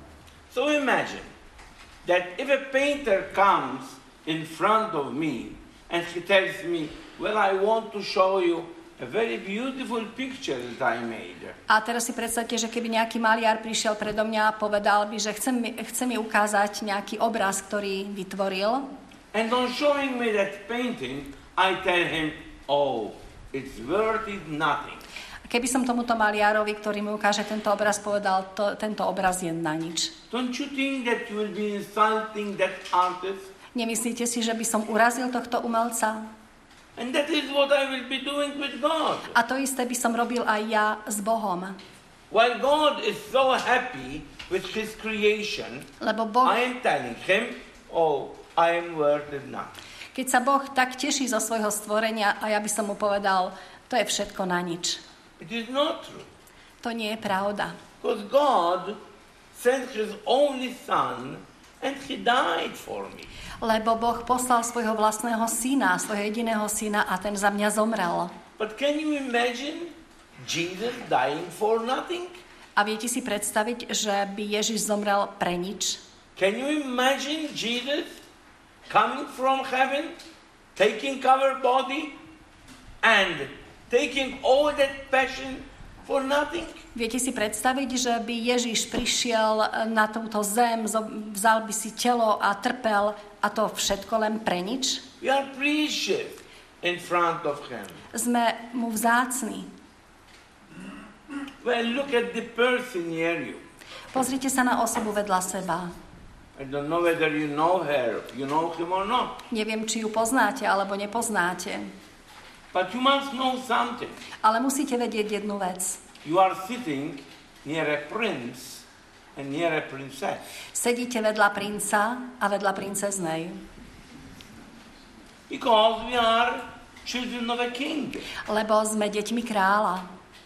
Speaker 1: So imagine that if a painter comes in front of me and he tells me, well, I want to show you a very beautiful picture that I made.
Speaker 2: A teraz si predstavte, že keby nejaký maliar prišiel predo mňa a povedal by, že chce mi, chce mi ukázať nejaký obraz, ktorý vytvoril.
Speaker 1: And on showing me that painting, I tell him, oh, it's worth it nothing.
Speaker 2: Keby som tomuto maliarovi, ktorý mi ukáže tento obraz, povedal, to, tento obraz je na nič.
Speaker 1: Don't you think that you will be insulting that artist?
Speaker 2: Nemyslíte si, že by som urazil tohto umelca?
Speaker 1: And that is what I will be doing with God.
Speaker 2: A to isté by som robil aj ja s Bohom.
Speaker 1: While God is so happy with His creation,
Speaker 2: Lebo Boh,
Speaker 1: I am telling Him, oh, I am worth it nothing.
Speaker 2: keď sa Boh tak teší zo svojho stvorenia a ja by som mu povedal, to je všetko na nič.
Speaker 1: It is not true.
Speaker 2: To nie je pravda.
Speaker 1: Because God sent His only Son and He died for me.
Speaker 2: Lebo Boh poslal svojho vlastného syna, svojho jediného syna a ten za mňa zomrel.
Speaker 1: But can you imagine Jesus dying for nothing?
Speaker 2: A viete si predstaviť, že by Ježiš zomrel pre nič?
Speaker 1: Can you imagine Jesus coming from heaven, taking our body and taking all that passion For nothing.
Speaker 2: Viete si predstaviť, že by Ježiš prišiel na túto zem, vzal by si telo a trpel a to všetko len pre nič?
Speaker 1: We are precious in front of him.
Speaker 2: Sme mu vzácni.
Speaker 1: Well, look at the person near you.
Speaker 2: Pozrite sa na osobu vedľa seba.
Speaker 1: I don't know whether you know her, you know him or not.
Speaker 2: Neviem, či ju poznáte alebo nepoznáte.
Speaker 1: But you must know something.
Speaker 2: Ale musíte vedieť jednu vec.
Speaker 1: You are sitting near a prince and near a princess.
Speaker 2: Sedíte vedľa princa a vedľa princeznej.
Speaker 1: Because we are children of a king.
Speaker 2: Lebo sme deťmi kráľa.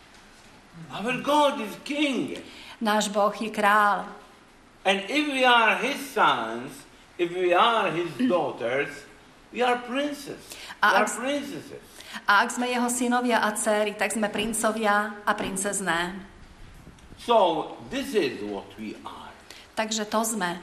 Speaker 1: Our God is king.
Speaker 2: Náš Boh je kráľ.
Speaker 1: And if we are his sons, if we are his daughters, we are princes. We are princesses.
Speaker 2: A ak sme jeho synovia a dcéry, tak sme princovia a princezné.
Speaker 1: So, this is what we are.
Speaker 2: Takže to sme.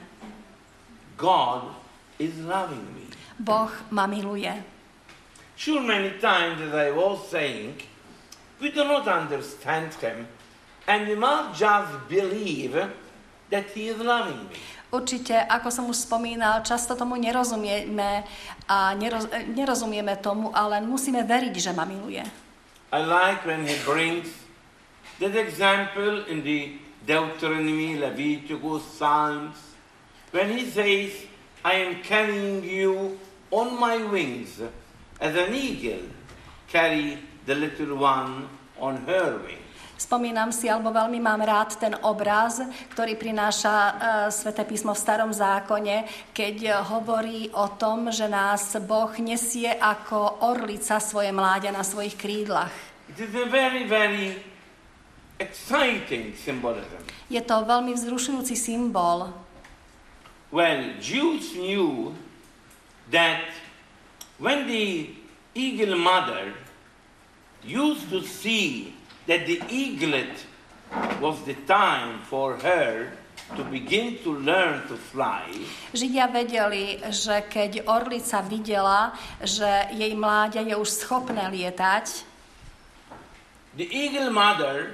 Speaker 1: God is loving me.
Speaker 2: Boh ma miluje.
Speaker 1: Sure, many times, as I was saying, we do not understand him, and we must just believe that he is loving me.
Speaker 2: Určite, ako som už spomínal, často tomu nerozumieme a neroz, nerozumieme tomu, ale musíme veriť, že ma miluje.
Speaker 1: I like when he brings that example in the Deuteronomy, Leviticus, Psalms, when he says, I am carrying you on my wings, as an eagle carry the little one on her wings.
Speaker 2: Spomínam si, alebo veľmi mám rád ten obraz, ktorý prináša uh, Sväté písmo v Starom zákone, keď uh, hovorí o tom, že nás Boh nesie ako orlica svoje mláďa na svojich krídlach.
Speaker 1: It is a very, very exciting symbolism.
Speaker 2: Je to veľmi vzrušujúci symbol.
Speaker 1: Well, Jews knew that when the eagle mother used to see that the eaglet was the time for her to begin to learn to fly.
Speaker 2: Židia vedeli, že keď orlica videla, že jej mláďa je už schopné lietať,
Speaker 1: the eagle mother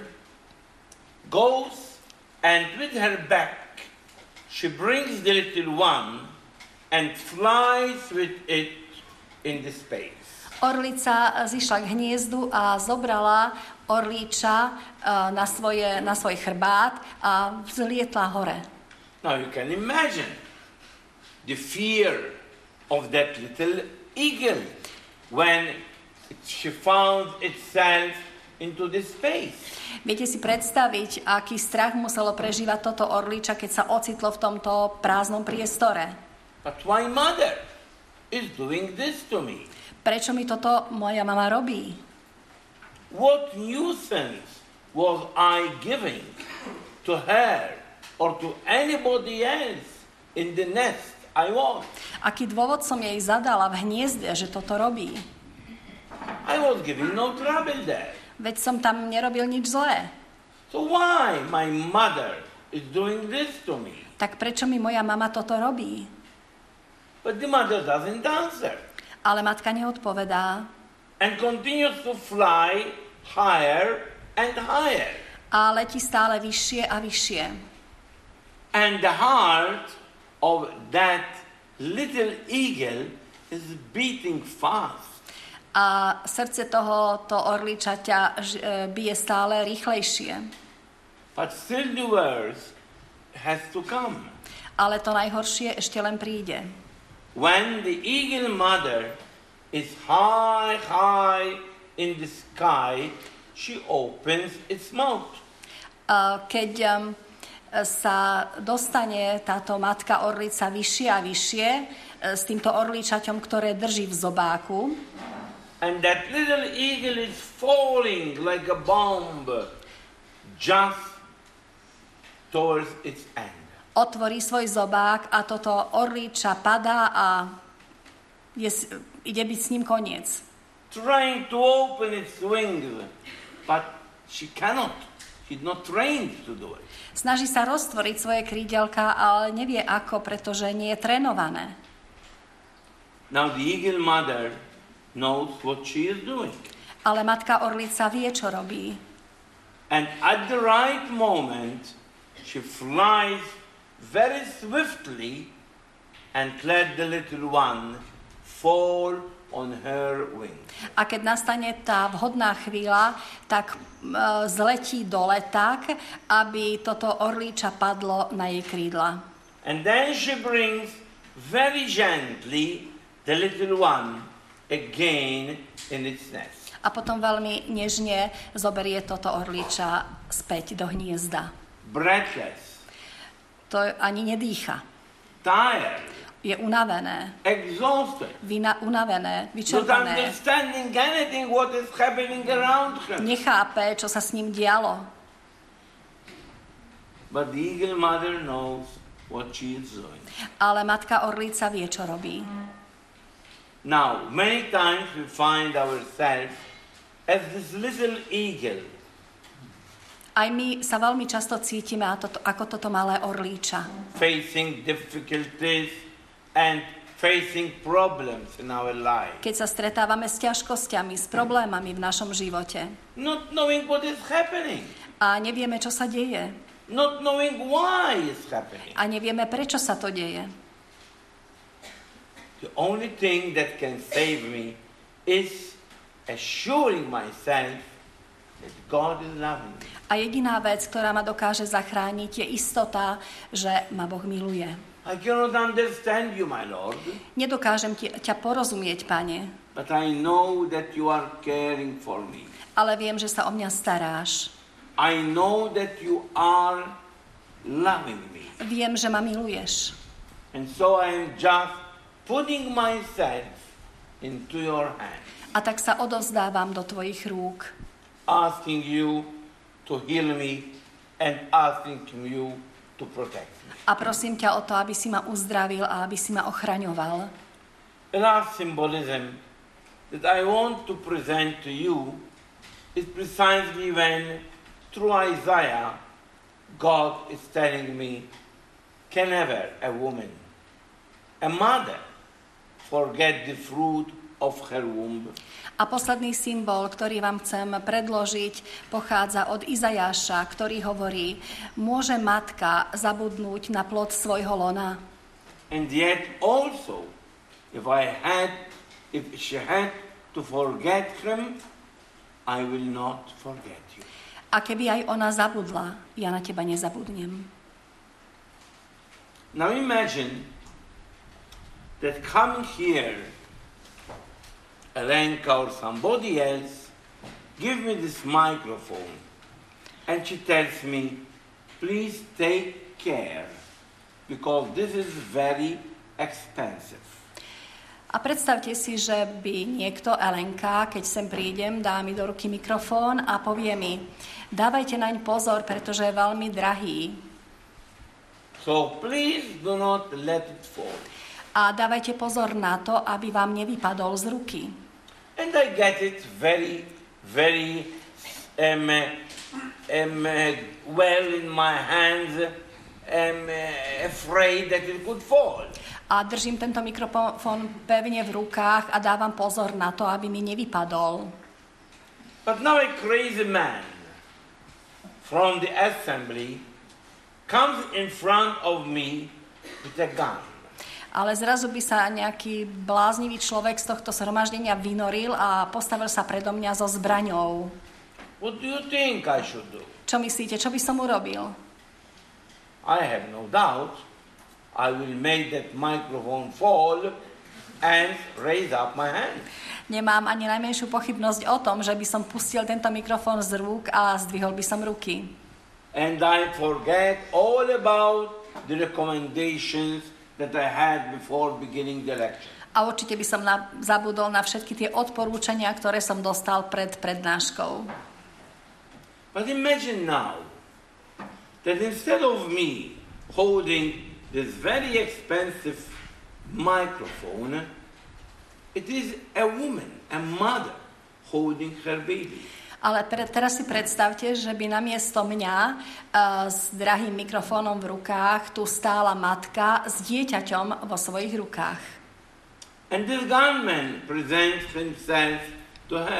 Speaker 1: goes and with her back she brings the little one and flies with it in the space.
Speaker 2: Orlica zišla k hniezdu a zobrala orlíča na, svoje, na svoj chrbát a vzlietla hore.
Speaker 1: Now you can imagine the fear of that little eagle when she found itself into this space.
Speaker 2: Viete si predstaviť, aký strach muselo prežívať toto orlíča, keď sa ocitlo v tomto prázdnom priestore.
Speaker 1: But why mother is doing this to me?
Speaker 2: Prečo mi toto moja mama robí?
Speaker 1: What nuisance was I giving to her or to anybody else in the nest I was?
Speaker 2: Aký dôvod som jej zadala v hniezde, že toto robí?
Speaker 1: I was giving no trouble there.
Speaker 2: Veď som tam nerobil nič zlé.
Speaker 1: So why my mother is doing this to me?
Speaker 2: Tak prečo mi moja mama toto robí?
Speaker 1: But the mother doesn't answer.
Speaker 2: Ale matka neodpovedá.
Speaker 1: And continues to fly higher and higher.
Speaker 2: A letí stále vyššie a vyššie.
Speaker 1: And the heart of that little eagle is beating fast.
Speaker 2: A srdce tohoto orličaťa bije stále rýchlejšie.
Speaker 1: But still the worst has to come.
Speaker 2: Ale to najhoršie ešte len príde.
Speaker 1: When the eagle mother is high, high in the sky, she opens its mouth.
Speaker 2: Keď um, sa dostane táto matka orlica vyššie a vyššie s týmto orličaťom, ktoré drží v zobáku,
Speaker 1: and that little eagle is falling like a bomb just towards its end.
Speaker 2: Otvorí svoj zobák a toto orlíča padá a je, ide byť s ním koniec.
Speaker 1: Trying to open its wings, but she cannot. She's not trained to do it.
Speaker 2: Snaží sa roztvoriť svoje krídelka, ale nevie ako, pretože nie je trénované.
Speaker 1: Now the eagle mother knows what she is doing.
Speaker 2: Ale matka orlica vie, čo robí.
Speaker 1: And at the right moment, she flies very swiftly and let the little one fall on her wings.
Speaker 2: A keď nastane tá vhodná chvíľa, tak uh, zletí dole tak, aby toto orlíča padlo na jej krídla.
Speaker 1: And then she brings very gently the little one again in its nest.
Speaker 2: A potom veľmi nežne zoberie toto orlíča späť do hniezda.
Speaker 1: Breathless,
Speaker 2: To ani nedýcha.
Speaker 1: tired,
Speaker 2: Je unavené,
Speaker 1: exhausted,
Speaker 2: vina, unavené,
Speaker 1: not
Speaker 2: vyčerpané.
Speaker 1: understanding anything what is happening around her.
Speaker 2: Nechápe, čo sa s ním dialo.
Speaker 1: But the eagle mother knows what she is doing.
Speaker 2: Ale matka orlíca vie, čo robí.
Speaker 1: Now, many times we find ourselves as this little eagle,
Speaker 2: Aj my sa veľmi často cítime ako toto malé orlíča.
Speaker 1: facing difficulties and facing problems in our life,
Speaker 2: Keď sa stretávame s ťažkosťami, s problémami v našom živote
Speaker 1: not knowing what is happening,
Speaker 2: a nevieme, čo sa deje
Speaker 1: not knowing why it's happening.
Speaker 2: a nevieme, prečo sa to deje.
Speaker 1: The only thing that can save me is assuring myself that God is loving me.
Speaker 2: A jediná vec, ktorá ma dokáže zachrániť, je istota, že ma Boh miluje.
Speaker 1: I cannot understand you, my Lord,
Speaker 2: Nedokážem ti, ťa porozumieť, Pane,
Speaker 1: but I know that you are caring for me.
Speaker 2: ale viem, že sa o mňa staráš.
Speaker 1: I know that you are loving me.
Speaker 2: Viem, že ma miluješ.
Speaker 1: And so I am just putting myself into your hands,
Speaker 2: A tak sa odovzdávam do tvojich rúk.
Speaker 1: asking you to heal me and asking you to protect me.
Speaker 2: A prosím ťa o to, aby si ma uzdravil a aby si ma ochraňoval.
Speaker 1: The last symbolism that I want to present to you is precisely when, through Isaiah, God is telling me, can ever a woman, a mother, forget the fruit of her womb?
Speaker 2: A posledný symbol, ktorý vám chcem predložiť, pochádza od Izajáša, ktorý hovorí, môže matka zabudnúť na plod svojho lona.
Speaker 1: And yet also, if I had, if she had to forget him, I will not forget you.
Speaker 2: A keby aj ona zabudla, ja na teba nezabudnem.
Speaker 1: Now imagine that coming here, Elenka or somebody else, give me this microphone, and she tells me, please take care, because this is very expensive.
Speaker 2: A predstavte si, že by niekto, Elenka, keď sem prídem, dá mi do ruky mikrofón a povie mi, dávajte naň pozor, pretože je veľmi drahý.
Speaker 1: So please do not let it fall.
Speaker 2: A dávajte pozor na to, aby vám nevypadol z ruky.
Speaker 1: And I get it very, very um, um, well in my hands, um, afraid that it could fall.
Speaker 2: A držím tento mikrofón pevne v rukách a dávam pozor na to, aby mi nevypadol.
Speaker 1: But now a crazy man from the assembly comes in front of me with a gun.
Speaker 2: Ale zrazu by sa nejaký bláznivý človek z tohto zhromaždenia vynoril a postavil sa predo mňa so zbraňou.
Speaker 1: What do you think I should do?
Speaker 2: Čo myslíte, čo by som urobil?
Speaker 1: I have no doubt I will make that microphone fall and raise up my hand.
Speaker 2: Nemám ani najmenšiu pochybnosť o tom, že by som pustil tento mikrofón z rúk a zdvihol by som ruky.
Speaker 1: And I forget all about the recommendations that I had before beginning the lecture.
Speaker 2: A určite by som na, zabudol na všetky tie odporúčania, ktoré som dostal pred prednáškou.
Speaker 1: But imagine now that instead of me holding this very expensive microphone, it is a woman, a mother, holding her baby.
Speaker 2: Ale pre, teraz si predstavte, že by namiesto mňa uh, s drahým mikrofónom v rukách tu stála matka s dieťaťom vo svojich rukách.
Speaker 1: And this gunman presents himself to her.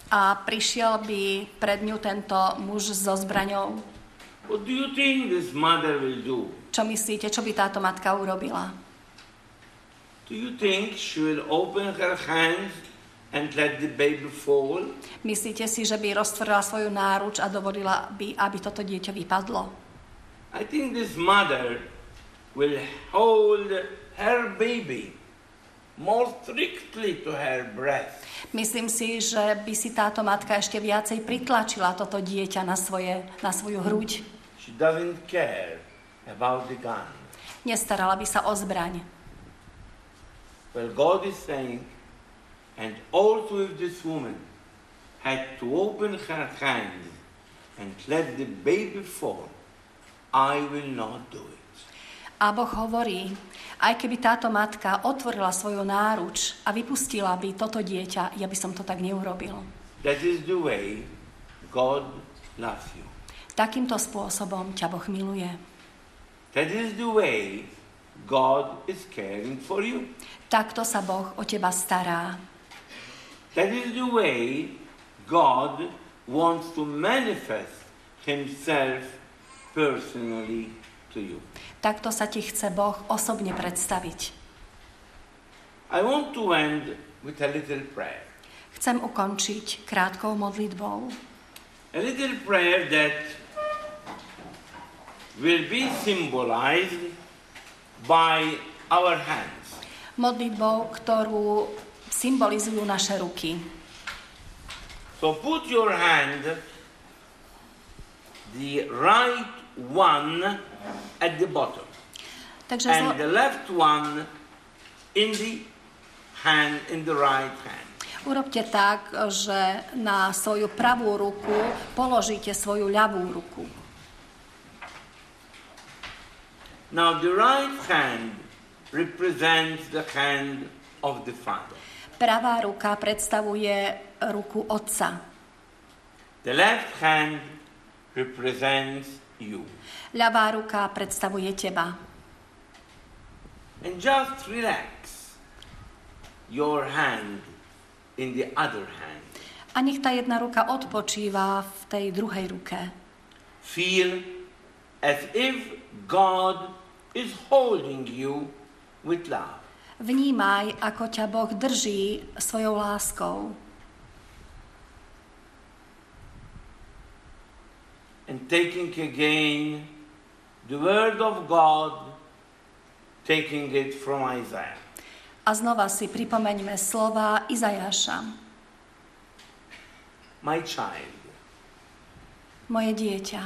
Speaker 2: a prišiel by pred ňu tento muž so zbraňou.
Speaker 1: What do you think this mother will do?
Speaker 2: Čo myslíte, čo by táto matka urobila?
Speaker 1: Do you think she will open her hands and let the baby fall?
Speaker 2: Myslíte si, že by roztvorila svoju náruč a dovolila by, aby toto dieťa vypadlo?
Speaker 1: I think this mother will hold her baby more strictly to her breast.
Speaker 2: Myslím si, že by si táto matka ešte viacej pritlačila toto dieťa na, svoje, na svoju hruď.
Speaker 1: She doesn't care about the gun.
Speaker 2: Nestarala by sa o zbraň.
Speaker 1: Well, God is saying, and also if this woman had to open her hands and let the baby fall, I will not do it.
Speaker 2: A Boh hovorí, aj keby táto matka otvorila svoju náruč a vypustila by toto dieťa, ja by som to tak neurobil.
Speaker 1: That is the way God loves you.
Speaker 2: Takýmto spôsobom ťa Boh miluje.
Speaker 1: That is the way God is caring for you.
Speaker 2: Takto sa Boh o teba stará.
Speaker 1: That is the way God wants to manifest himself personally to you.
Speaker 2: Takto sa ti chce Boh osobne predstaviť.
Speaker 1: I want to end with a little prayer.
Speaker 2: Chcem ukončiť krátkou modlitbou.
Speaker 1: A little prayer that will be symbolized by our hands.
Speaker 2: Modlitbou, ktorú symbolizujú naše ruky.
Speaker 1: So put your hand, the right one at the bottom,
Speaker 2: Takže
Speaker 1: and
Speaker 2: zlo...
Speaker 1: the left one in the hand, in the right hand.
Speaker 2: urobte tak, že na svoju pravú ruku položíte svoju ľavú ruku.
Speaker 1: Now the right hand represents the hand of the Father.
Speaker 2: Pravá ruka predstavuje ruku Otca.
Speaker 1: The left hand represents you.
Speaker 2: Ľavá ruka predstavuje teba.
Speaker 1: And just relax your hand in the other hand.
Speaker 2: A nech tá jedna ruka odpočíva v tej druhej ruke.
Speaker 1: Feel as if God is holding you with love.
Speaker 2: Vnímaj, ako ťa Boh drží svojou láskou.
Speaker 1: And taking again the word of God, taking it from Isaiah.
Speaker 2: A znova si pripomeňme slova Izajaša.
Speaker 1: My child,
Speaker 2: Moje dieťa.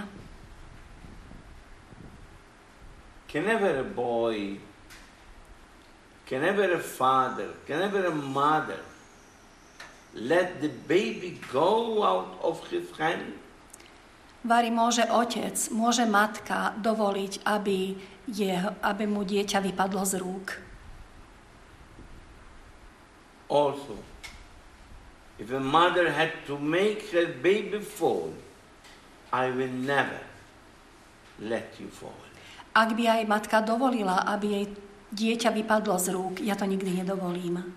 Speaker 1: can ever a boy, can ever a father, can ever a mother let the baby go out of his hand?
Speaker 2: Vari, môže otec, môže matka dovoliť, aby, jeho, aby mu dieťa vypadlo z rúk.
Speaker 1: Also, if a mother had to make her baby fall, I will never let you fall.
Speaker 2: Ak by aj matka dovolila, aby jej dieťa vypadlo z rúk, ja to nikdy nedovolím.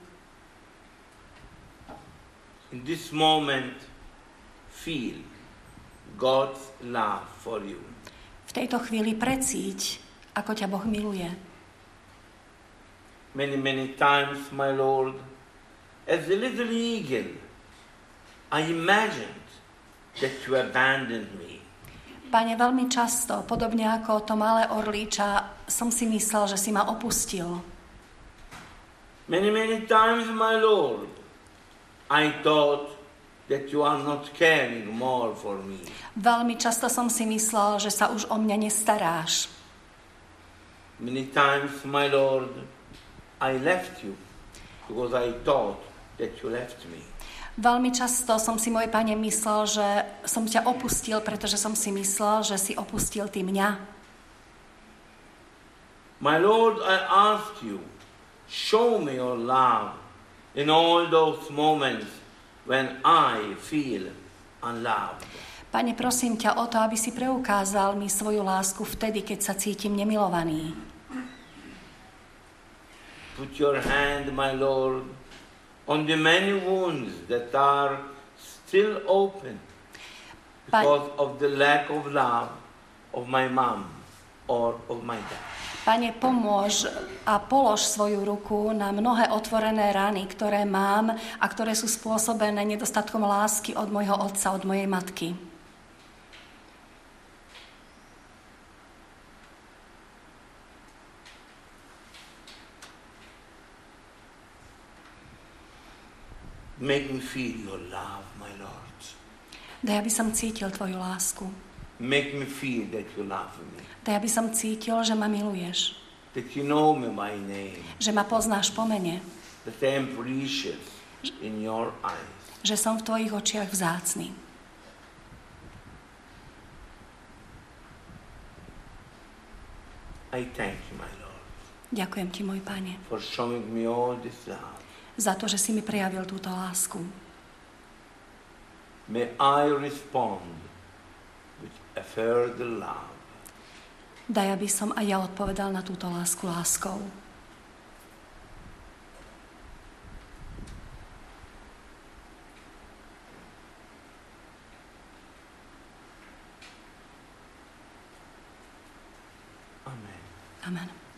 Speaker 1: In this moment, feel God's love for you.
Speaker 2: V tejto chvíli precíť, ako ťa Boh miluje.
Speaker 1: Many, many times, my Lord, as a little eagle, I imagined that you abandoned me.
Speaker 2: Pane, veľmi často, podobne ako to malé orlíča, som si myslel, že si ma opustil.
Speaker 1: Many, many times, my Lord, I thought that you are not caring more for me.
Speaker 2: Veľmi často som si myslel, že sa už o mňa nestaráš.
Speaker 1: Many times, my Lord, I left you because I thought that you left me.
Speaker 2: Veľmi často som si, môj Pane, myslel, že som ťa opustil, pretože som si myslel, že si opustil ty mňa.
Speaker 1: My Lord, I ask you, show me your love in all those moments when I feel unloved.
Speaker 2: Pane, prosím ťa o to, aby si preukázal mi svoju lásku vtedy, keď sa cítim nemilovaný.
Speaker 1: Put your hand, my Lord, on the many wounds that are still open because of the lack of love of my mom or of my dad.
Speaker 2: Pane, pomôž a polož svoju ruku na mnohé otvorené rany, ktoré mám a ktoré sú spôsobené nedostatkom lásky od môjho otca, od mojej matky.
Speaker 1: Make me feel your love, my Lord.
Speaker 2: Daj, aby som cítil tvoju lásku.
Speaker 1: Make me feel that you love me.
Speaker 2: Daj, aby som cítil, že ma miluješ.
Speaker 1: That you know me by name.
Speaker 2: Že ma poznáš po mene.
Speaker 1: That I am precious in your eyes.
Speaker 2: Že som v tvojich očiach vzácny.
Speaker 1: I thank you, my Lord.
Speaker 2: Ďakujem ti, môj Pane,
Speaker 1: for showing me all this love.
Speaker 2: za to, že si mi prejavil túto lásku.
Speaker 1: May I respond with a further love.
Speaker 2: Daj, aby som aj ja odpovedal na túto lásku láskou.
Speaker 1: Amen.
Speaker 2: Amen.